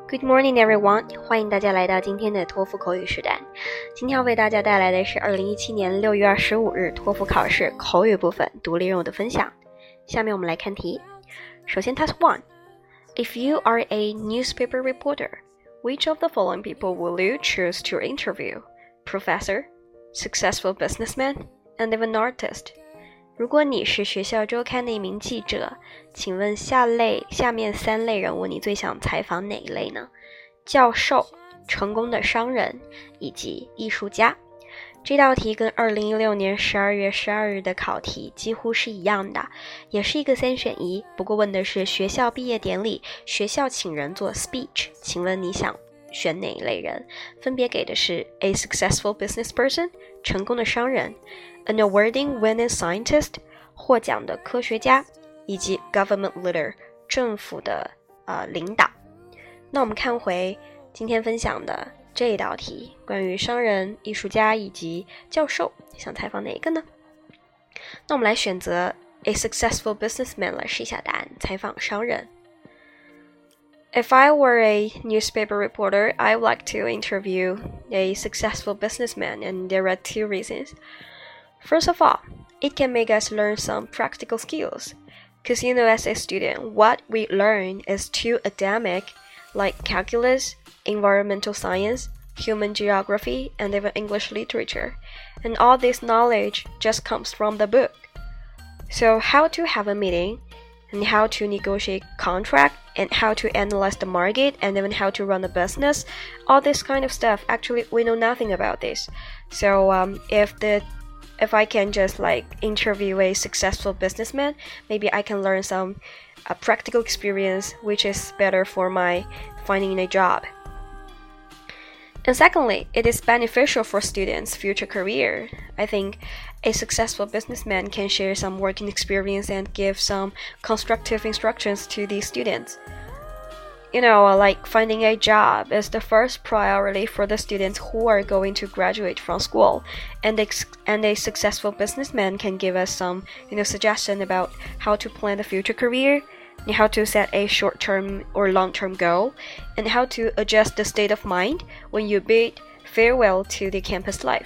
Good morning, everyone！ 欢迎大家来到今天的托福口语实战。今天要为大家带来的是2017年6月25日托福考试口语部分独立任务的分享。下面我们来看题。首先 Task 1 If you are a newspaper reporter, which of the following people will you choose to interview? Professor, successful businessman, and even artist?如果你是学校周刊的一名记者，请问下面3类人物你最想采访哪一类呢？教授、成功的商人以及艺术家。这道题跟2016年12月12日的考题几乎是一样的，也是一个3选1，不过问的是学校毕业典礼，学校请人做 speech， 请问你想选哪一类人？分别给的是 A successful business person 成功的商人， An award-winning scientist 获奖的科学家，以及 government leader 政府的领导。那我们看回今天分享的这一道题，关于商人、艺术家以及教授，想采访哪一个呢？那我们来选择 A successful businessman 来试一下答案，采访商人。If I were a newspaper reporter, I would like to interview a successful businessman, and there are 2 reasons. First of all, it can make us learn some practical skills, because as a student, what we learn is too academic, like calculus, environmental science, human geography, and even English literature, and all this knowledge just comes from the book. So how to have a meeting, and how to negotiate contract, and how to analyze the market, and even how to run a business, all this kind of stuff, actually we know nothing about this. So if I can just interview a successful businessman, maybe I can learn some practical experience, which is better for my finding a job. And secondly, it is beneficial for students' future career. I think a successful businessman can share some working experience and give some constructive instructions to these students. Finding a job is the first priority for the students who are going to graduate from school, and a successful businessman can give us some, suggestion about how to plan the future career, and how to set a short-term or long-term goal, and how to adjust the state of mind when you bid farewell to the campus life.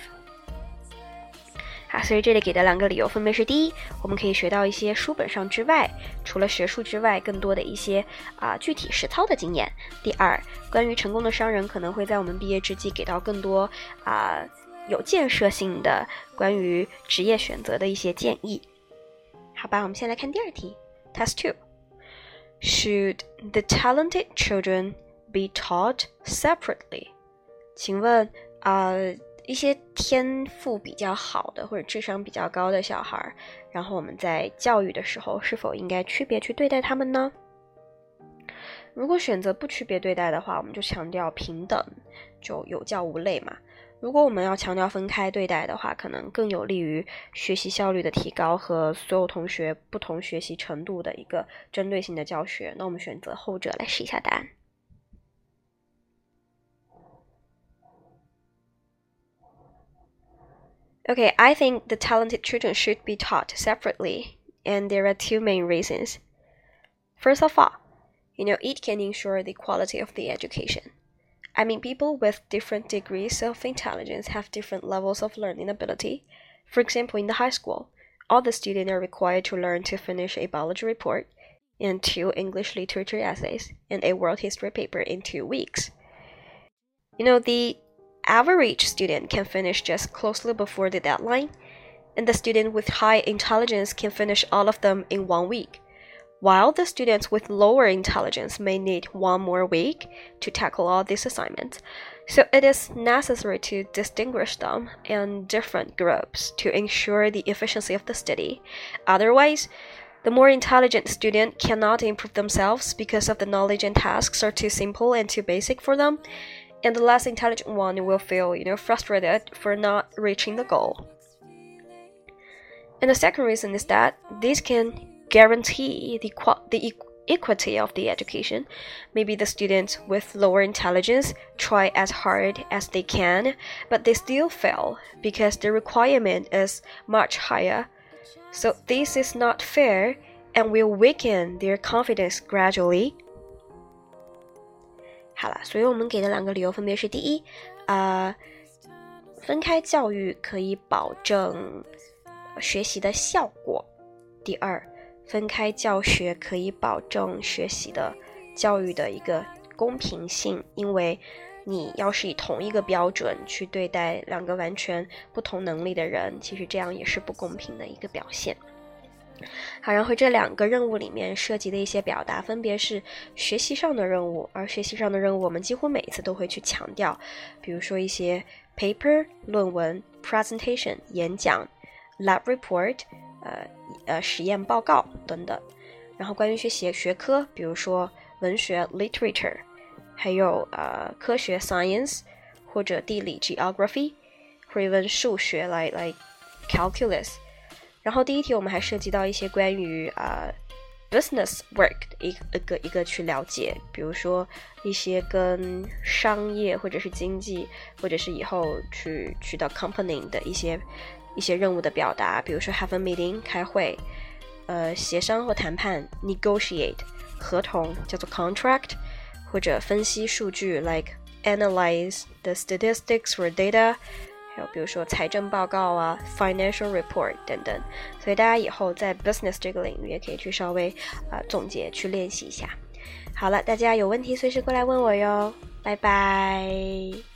所以这里给的2个理由分别是：第一，我们可以学到一些书本上之外，除了学术之外更多的一些具体实操的经验；第二，关于成功的商人可能会在我们毕业之际给到更多有建设性的关于职业选择的一些建议。好吧，我们先来看第2题 Task 2 Should the talented children be taught separately? 请问一些天赋比较好的或者智商比较高的小孩，然后我们在教育的时候是否应该区别去对待他们呢？如果选择不区别对待的话，我们就强调平等，就有教无类嘛。如果我们要强调分开对待的话，可能更有利于学习效率的提高和所有同学不同学习程度的一个针对性的教学。那我们选择后者来试一下答案。Okay, I think the talented children should be taught separately, and there are 2 main reasons. First of all, it can ensure the quality of the education. I mean, people with different degrees of intelligence have different levels of learning ability. For example, in the high school, all the students are required to learn to finish a biology report and 2 English literature essays and a world history paper in 2 weeks. The average student can finish just closely before the deadline, and the student with high intelligence can finish all of them in 1 week, while the students with lower intelligence may need 1 more week to tackle all these assignments. So it is necessary to distinguish them in different groups to ensure the efficiency of the study. Otherwise, the more intelligent student cannot improve themselves because of the knowledge and tasks are too simple and too basic for them, and the less intelligent one will feel, frustrated for not reaching the goal. And the second reason is that this can guarantee the equity of the education. Maybe the students with lower intelligence try as hard as they can, but they still fail because the requirement is much higher. So this is not fair and will weaken their confidence gradually. 好了，所以我们给的2个理由分别是：第一，分开教育可以保证学习的效果；第二，分开教学可以保证学习的教育的一个公平性，因为你要是以同一个标准去对待2个完全不同能力的人，其实这样也是不公平的一个表现。好，然后这2个任务里面涉及的一些表达分别是学习上的任务，而学习上的任务我们几乎每一次都会去强调，比如说一些 paper 论文、presentation 演讲、lab report 实验报告等等。然后关于学科，比如说文学 literature， 还有科学 science， 或者地理 geography， 或者数学来 calculus。然后第一题我们还涉及到一些关于business work 的一个去了解，比如说一些跟商业或者是经济或者是以后去到 company 的一些任务的表达，比如说 have a meeting 开会，协商或谈判 negotiate， 合同叫做 contract， 或者分析数据 like analyze the statistics or data，还有比如说财政报告啊 financial report 等等。所以大家以后在 business 这个领域也可以去稍微总结去练习一下。好了，大家有问题随时过来问我哟，拜拜。